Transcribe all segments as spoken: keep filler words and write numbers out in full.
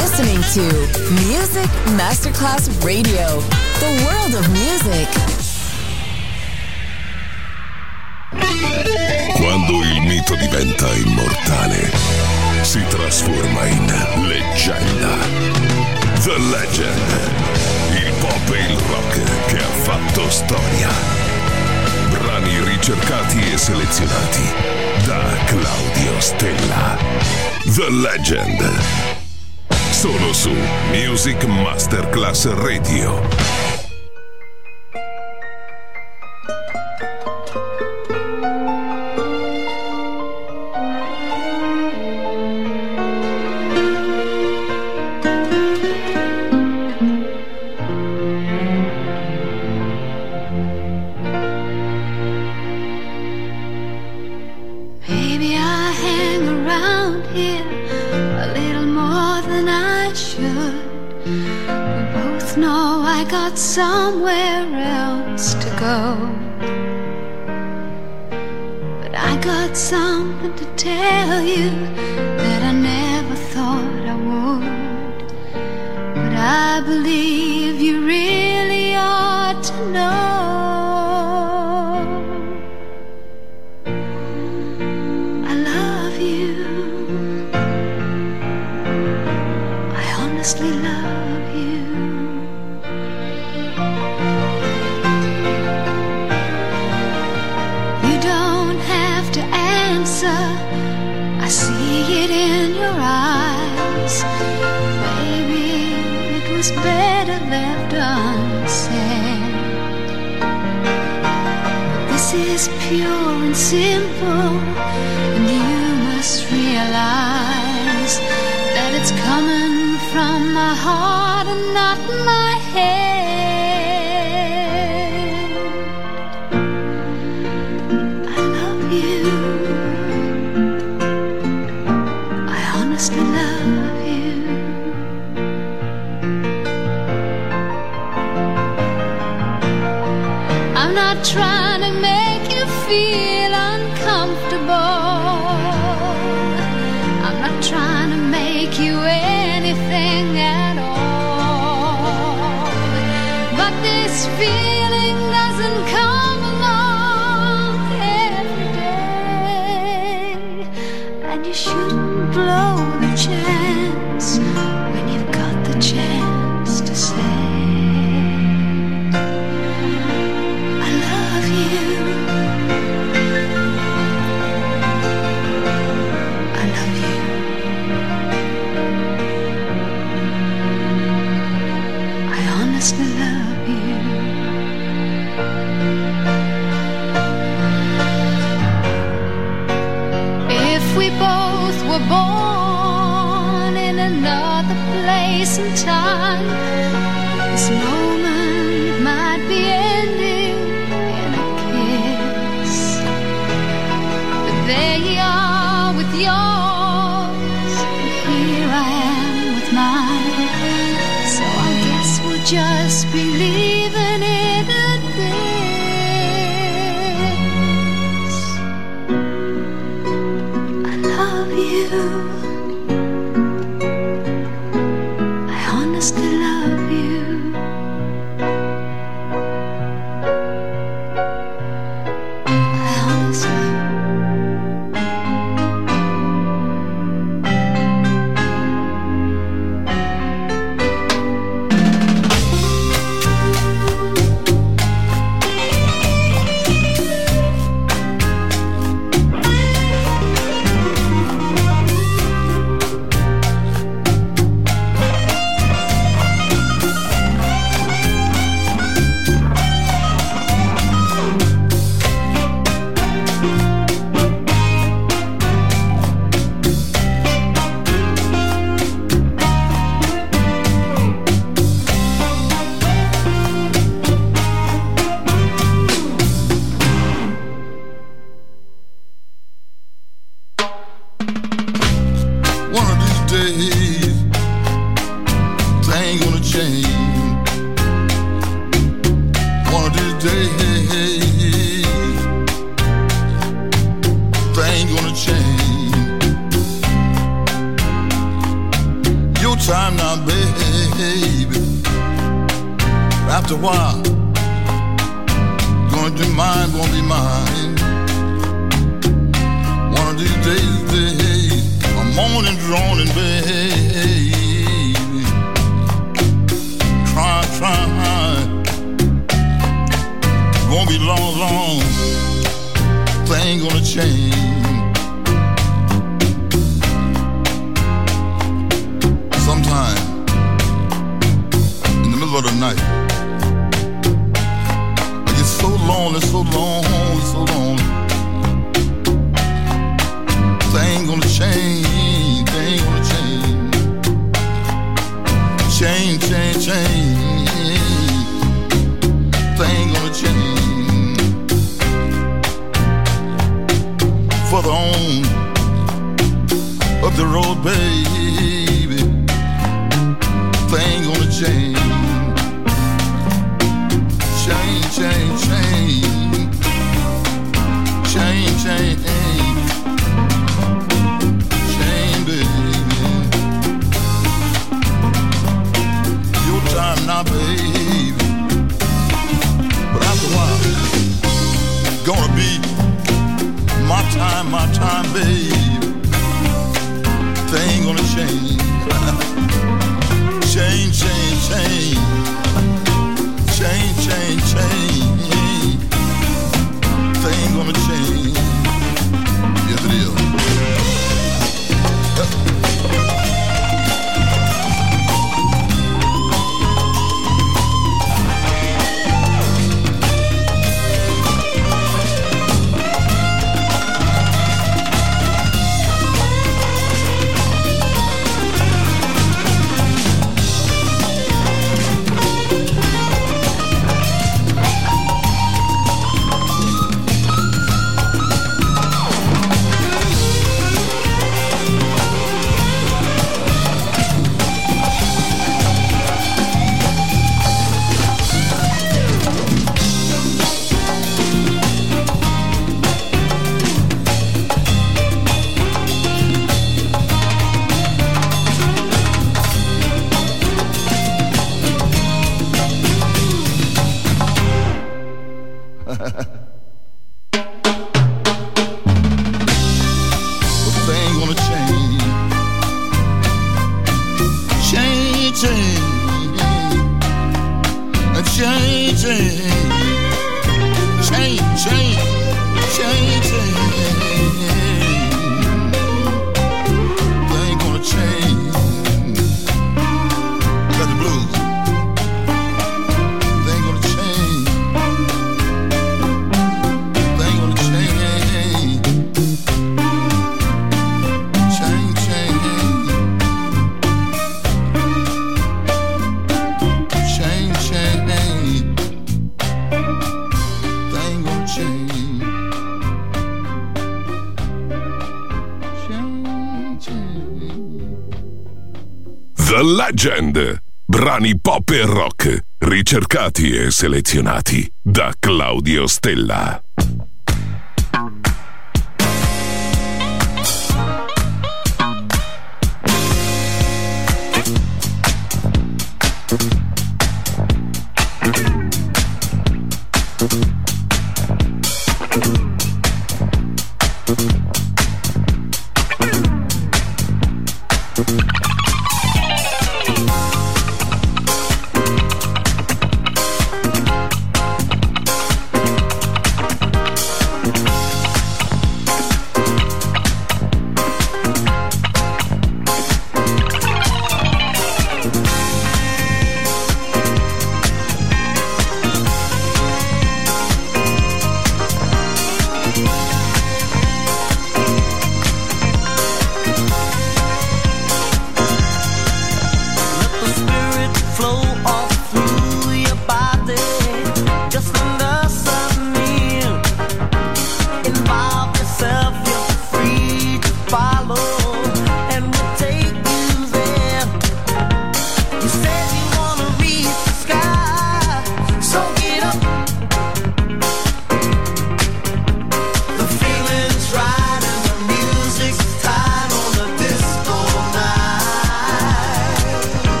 listening to Music Masterclass Radio, the world of music. Quando il mito diventa immortale, si trasforma in leggenda. The Legend, il pop e il rock che ha fatto storia. Brani ricercati e selezionati da Claudio Stella. The Legend, solo su Music Masterclass Radio. Somewhere else to go, but I got something to tell you that I never thought I would, but I believe you really ought to know. I love you, I honestly love you. I see it in your eyes. Maybe it was better left unsaid. But this is pure and simple, and you must realize that it's coming from my heart and not my head. I love you, I love you. I'm not trying to make you feel uncomfortable. I'm not trying to make you anything at all. But this feeling doesn't come along every day, and you shouldn't blow the chance when you've got the chance to say I love you, I love you, I honestly love you. If we both were born in another place and time, this moment might be ending in a kiss. But there you are with yours, and here I am with mine. So I guess we'll just be leaving it at this. I love you, I honestly love you. I honestly time now, baby. After a while, gonna be mine, gonna be mine. One of these days, days, I'm moaning, droning, baby. Trying, trying. Won't be long, long. Thing gonna change. Sometime in the middle of the night, I get so lonely, so lonely, so lonely. Thing gonna change, thing gonna change. Change, change, change. Thing gonna change. Further on up the road, baby, thing gonna change. Change, change, change. Change, change, change, baby. Your time now, baby. But after a while, gonna be my time, my time, baby. Thing gonna change. Change, change, change. Change, change, change. Thing gonna change. Yes, it is. The Legend. Brani pop e rock, ricercati e selezionati da Claudio Stella.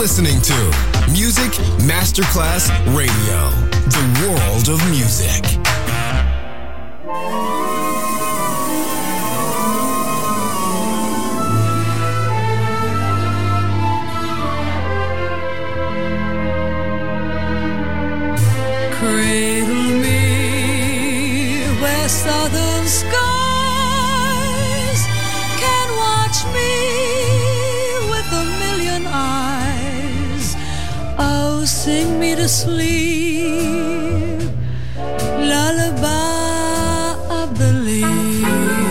listening to Music Masterclass Radio, the world of music. Cradle me where southern skies can watch me with a million eyes. Oh, sing me to sleep, lullaby of the leaves.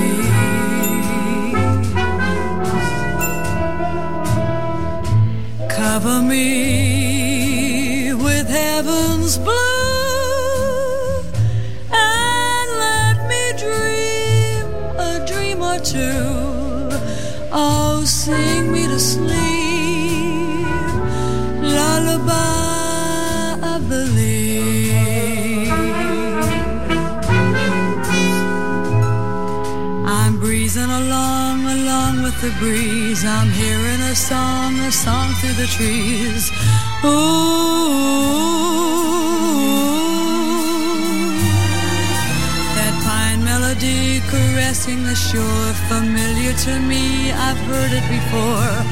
Cover me with heaven's blue, oh, sing me to sleep, lullaby of the leaves. I'm breezing along, along with the breeze. I'm hearing a song, a song through the trees. Ooh, caressing the shore, familiar to me, I've heard it before.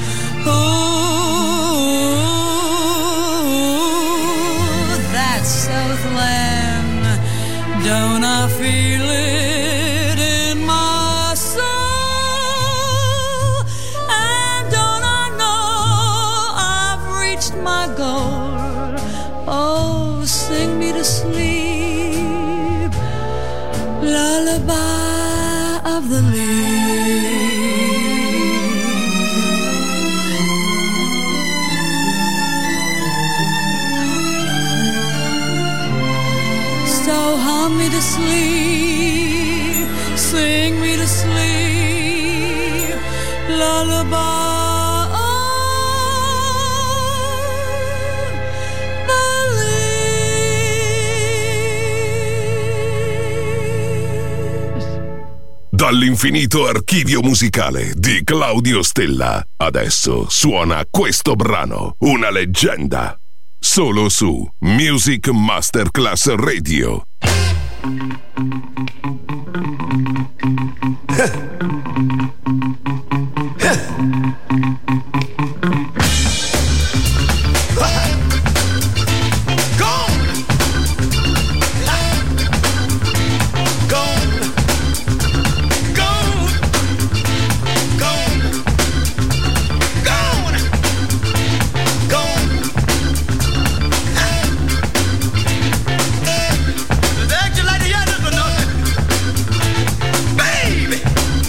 Oh, that Southland, don't I feel it in my soul? And don't I know I've reached my goal? Oh, sing me to sleep, lullaby of the leaves. So hum me to sleep, sing me to sleep, lullaby. Dall'infinito archivio musicale di Claudio Stella, adesso suona questo brano, una leggenda, solo su Music Masterclass Radio. Baby,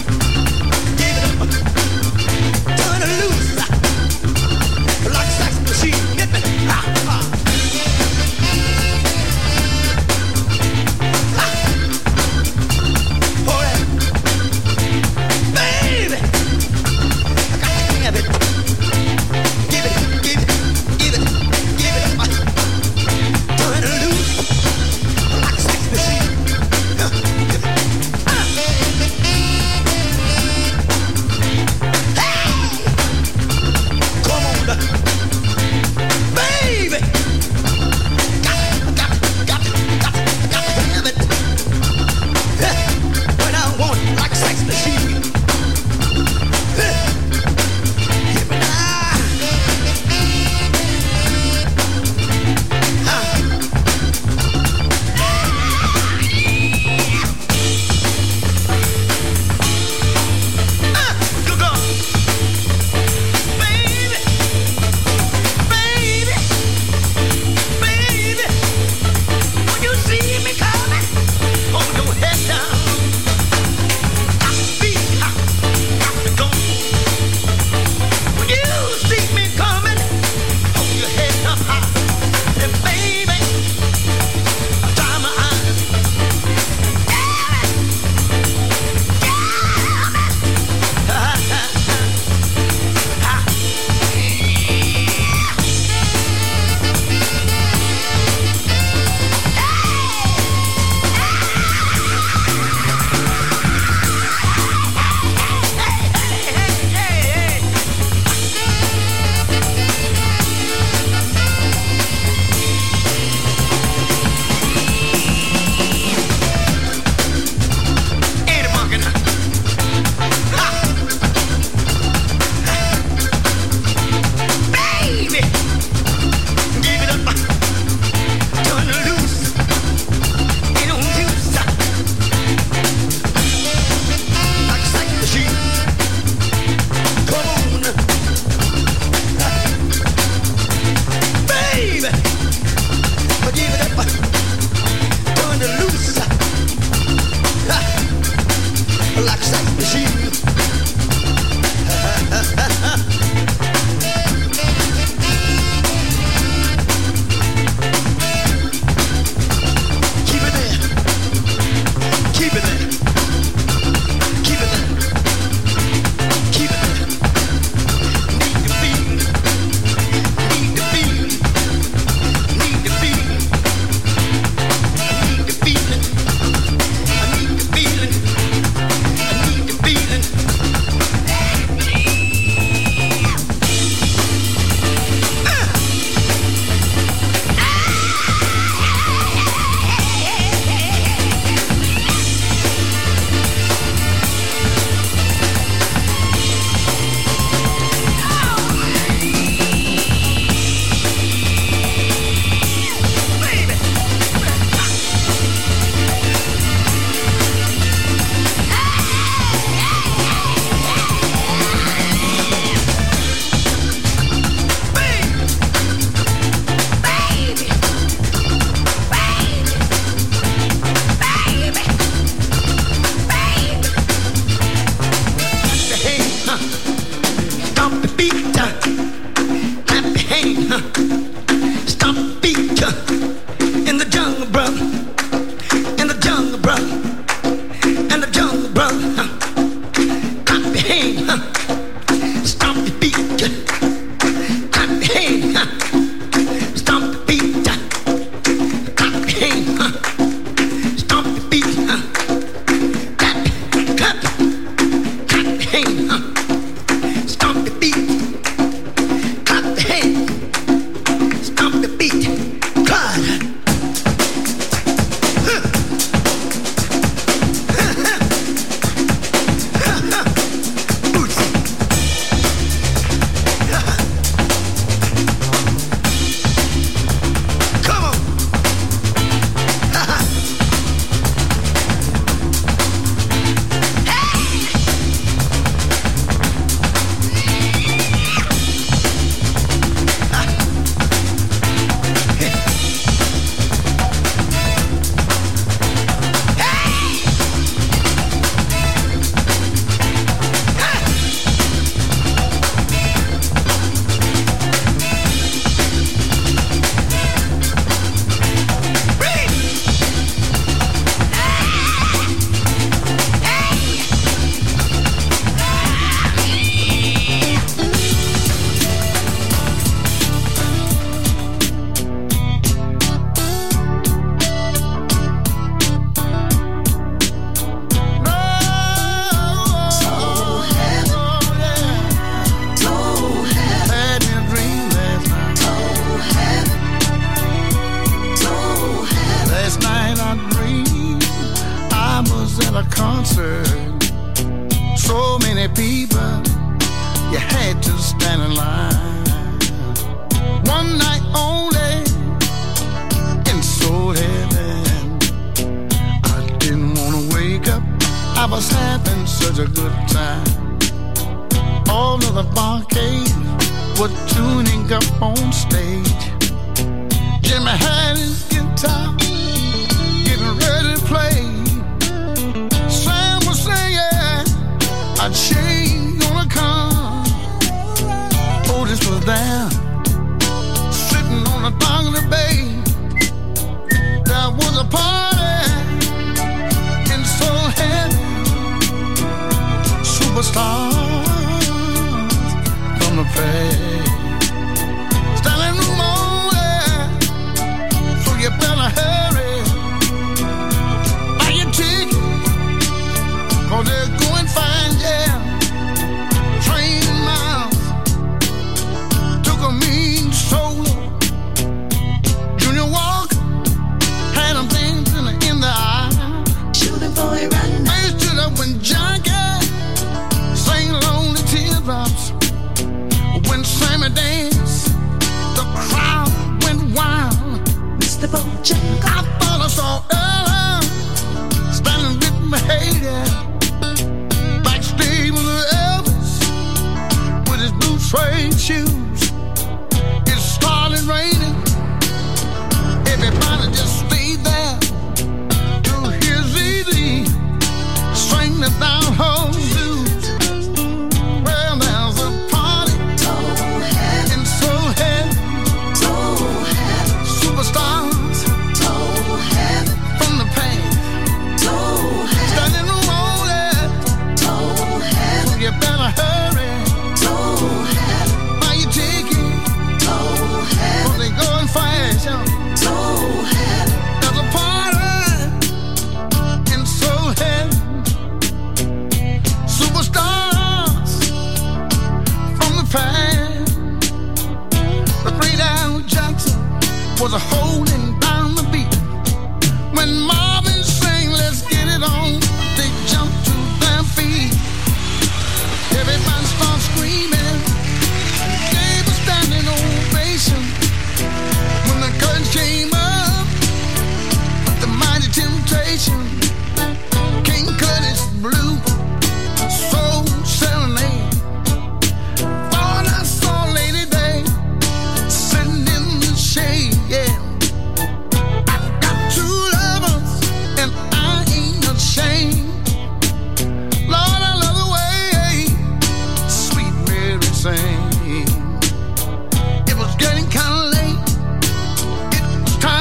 It was getting kinda late. It was time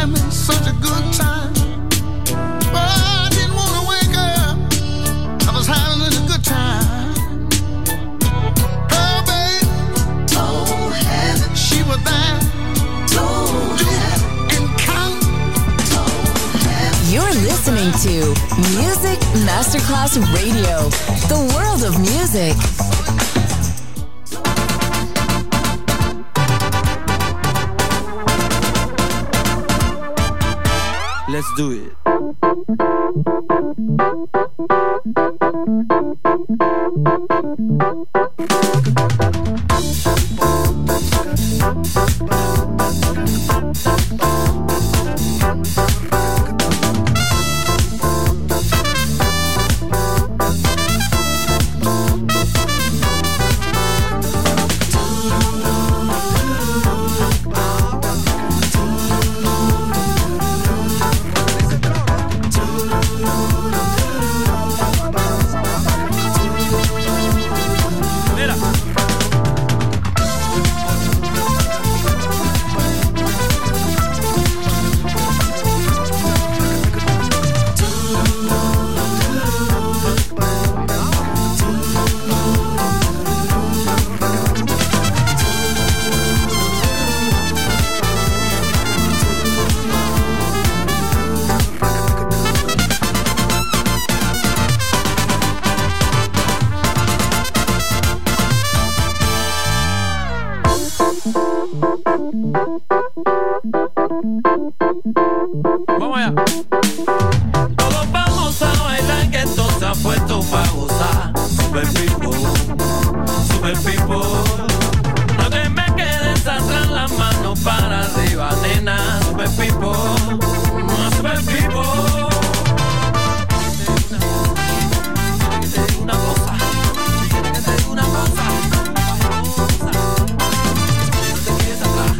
having such a good time. But I didn't want to wake up. I was having a good time. Oh, babe. Told heaven. She was there. Told heaven. And count. Told heaven. You're listening to Music Masterclass Radio. The world of music. Let's do it. Vamos allá. Todos vamos a bailar, que esto se ha puesto pa' gozar. Super people, super people. No te me quedes atrás, las manos para arriba, nena. Super people, super people. Quiere que te diga una cosa, quiere que te diga una cosa. No te quedes atrás.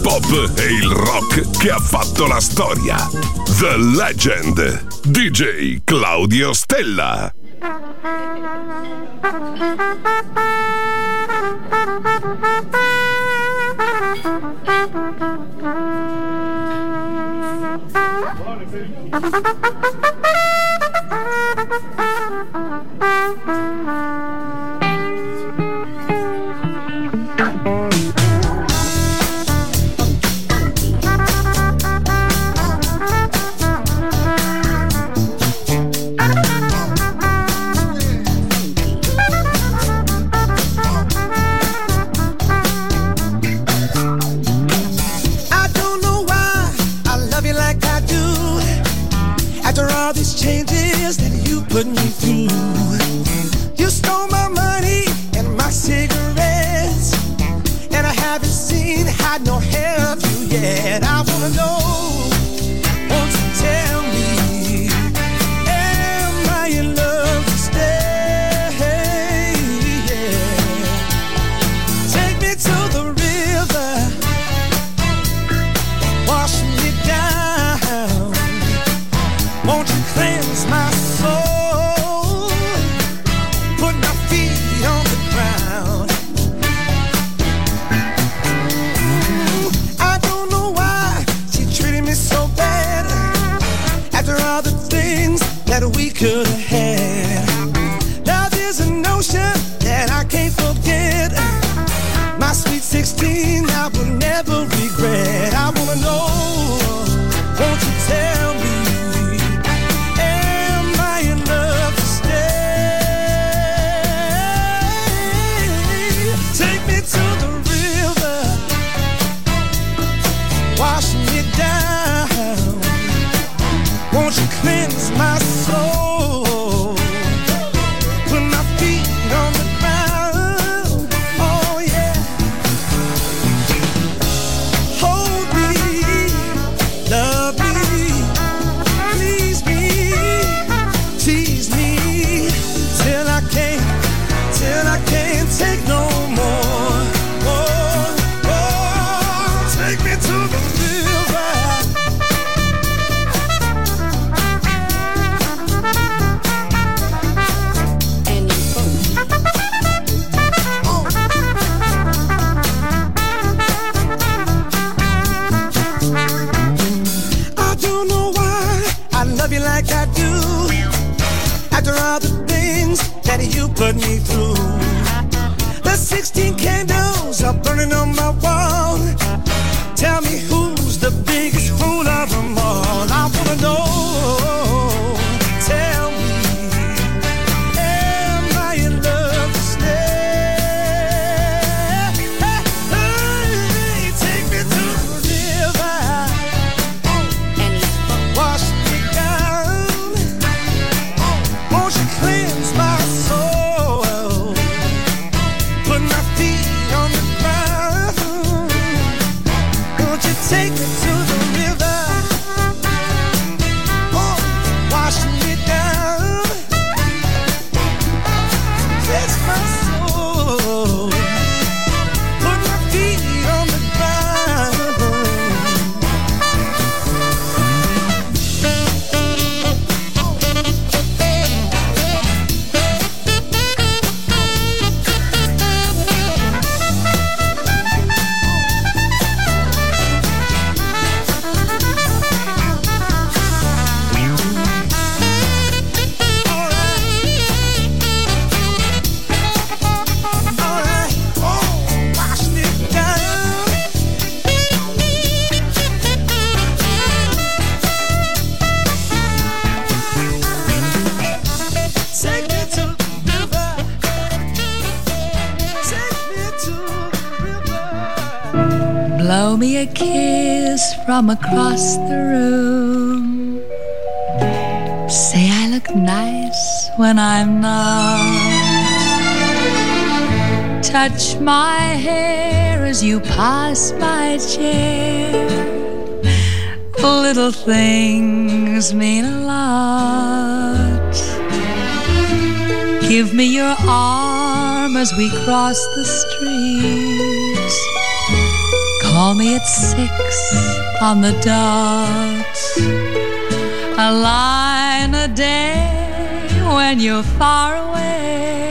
pop e il rock che ha fatto la storia. The Legend, D J Claudio Stella. Put me through. You stole my money and my cigarettes, and I haven't seen, had no hair of you yet. I wanna know, won't you tell me, am I in love to stay? Yeah. Take me to the river, wash me down. Won't you cleanse my soul? That we could have had. Now there's a notion that I can't forget. My sweet sixteen I will never regret. I wanna know, won't you tell me, am I in love to stay? Take me to the river, wash me down. Won't you cleanse my soul? Put my feet on the ground. Oh yeah. Hold me, love me, please me, tease me till I can't, till I can't take no more. Oh, oh, take me to the river. Like I do, after all the things that you put me through. The sixteen candles are burning on my wall. Tell me who's the biggest fool of them all. I wanna know, tell me, am I in love to stay? Hey, hey, take me to the river and wash me down. Won't you cleanse my soul? Put my feet on the ground. Won't you take me to the river? Oh, wash me down. Cleanse my soul. Put my feet on the ground. Blow me a kiss from across the room. Say I look nice when I'm not. Touch my hair as you pass my chair. Little things mean a lot. Give me your arm as we cross the street. Call me at six on the dot. A line a day when you're far away.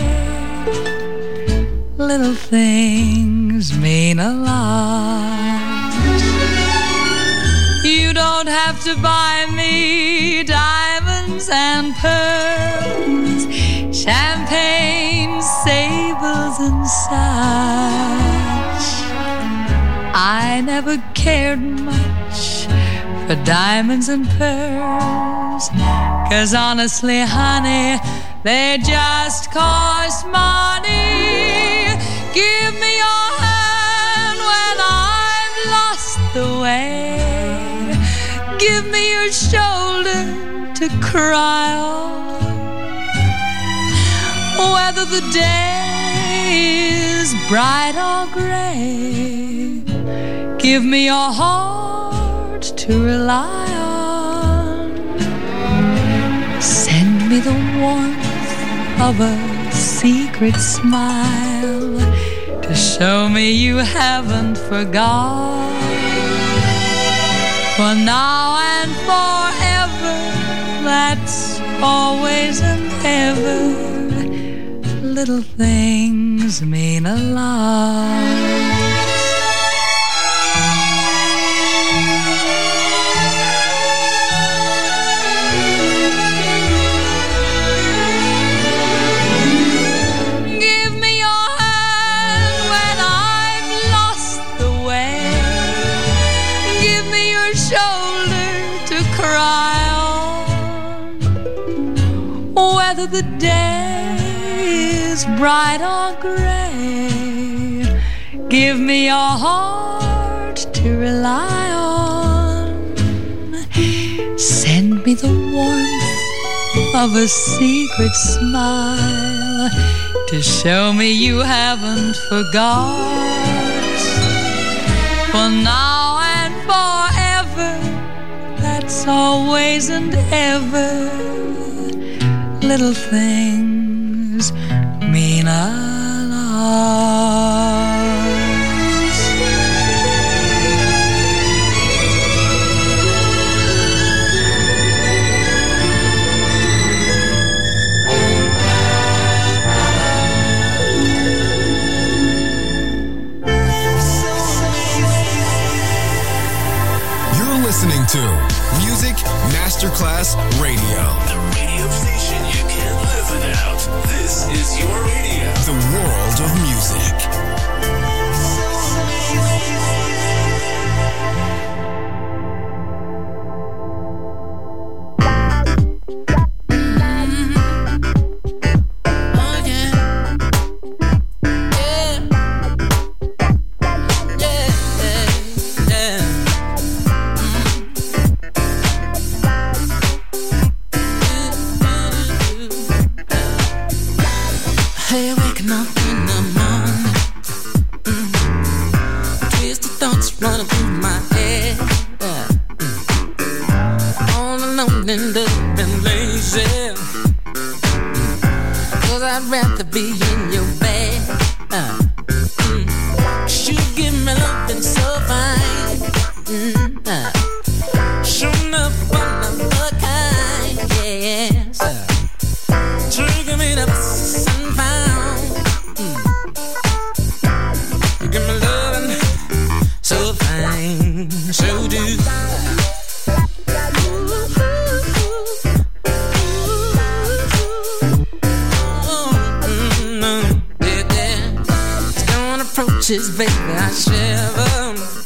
Little things mean a lot. You don't have to buy me diamonds and pearls, champagne, sables and such. I never cared much for diamonds and pearls, 'cause honestly, honey, they just cost money. Give me your hand when I've lost the way. Give me your shoulder to cry on. Whether the day is bright or gray, give me your heart to rely on. Send me the warmth of a secret smile to show me you haven't forgot. For now and forever, that's always and ever. Little things mean a lot. Whether the day is bright or gray, give me your heart to rely on. Send me the warmth of a secret smile to show me you haven't forgot. For now and forever, that's always and ever. Little things mean a lot. You're listening to Music Masterclass Radio. The radio station you can't live without. This is your radio. The world of music. Baby, I shiver,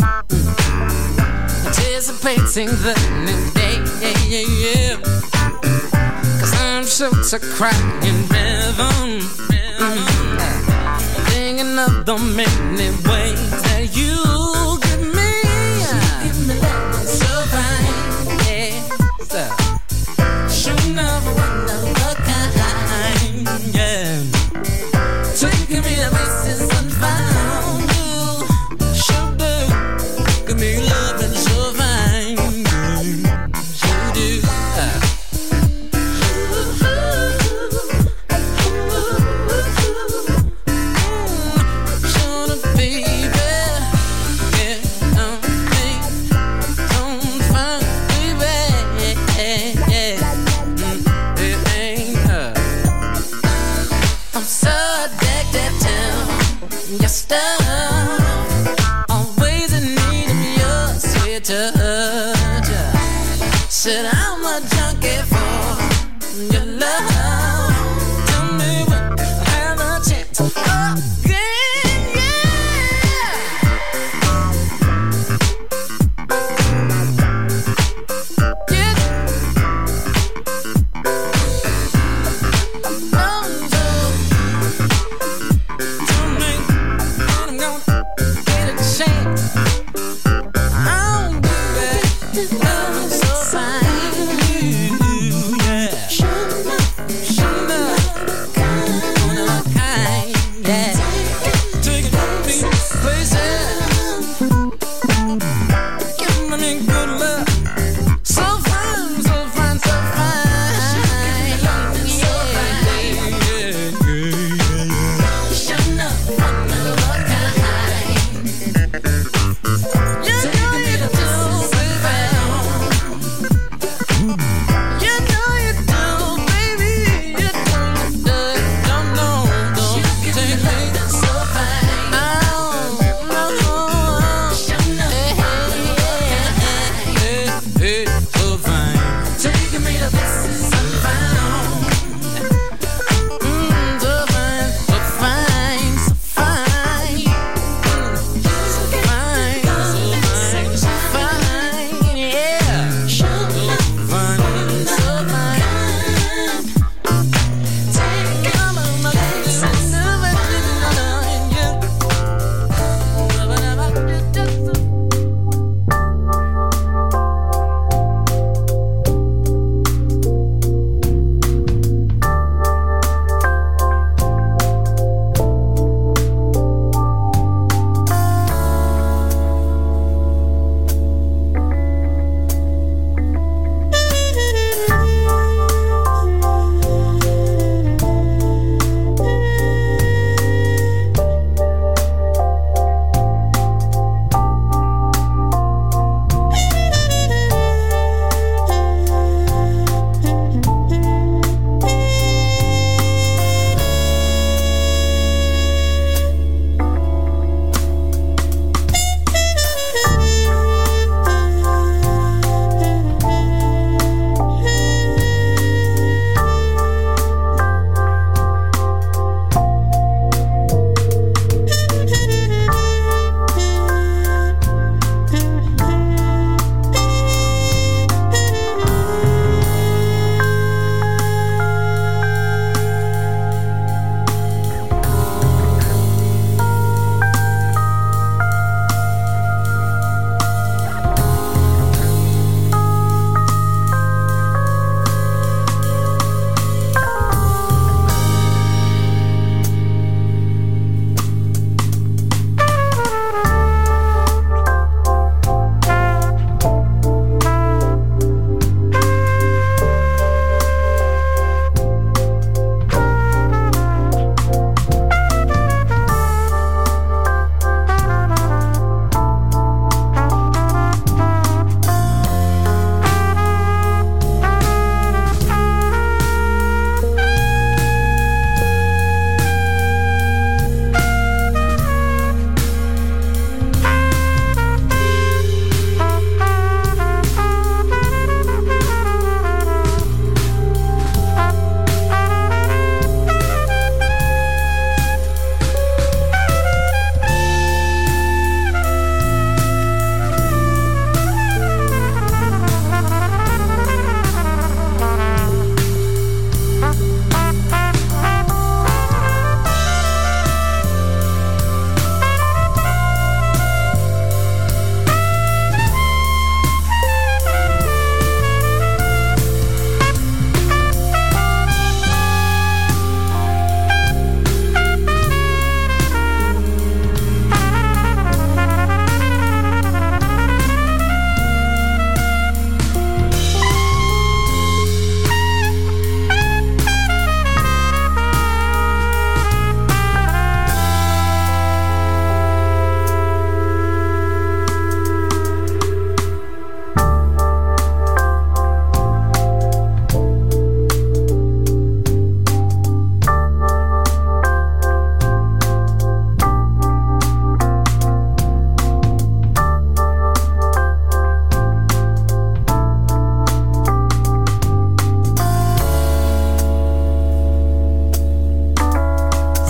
anticipating the new day, yeah, yeah, yeah. 'Cause I'm sure to cry in rhythm, mm-hmm. Thinking of the many ways that you give me, give me love so fine, yeah. So, sure never one of a kind, yeah. Taking me to places unfound.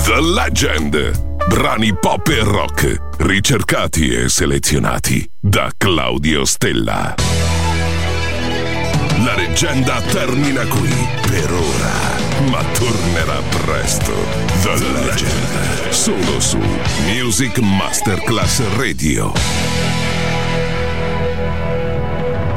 The Legend. Brani pop e rock, ricercati e selezionati da Claudio Stella. La leggenda termina qui per ora, ma tornerà presto. The Legend, solo su Music Masterclass Radio.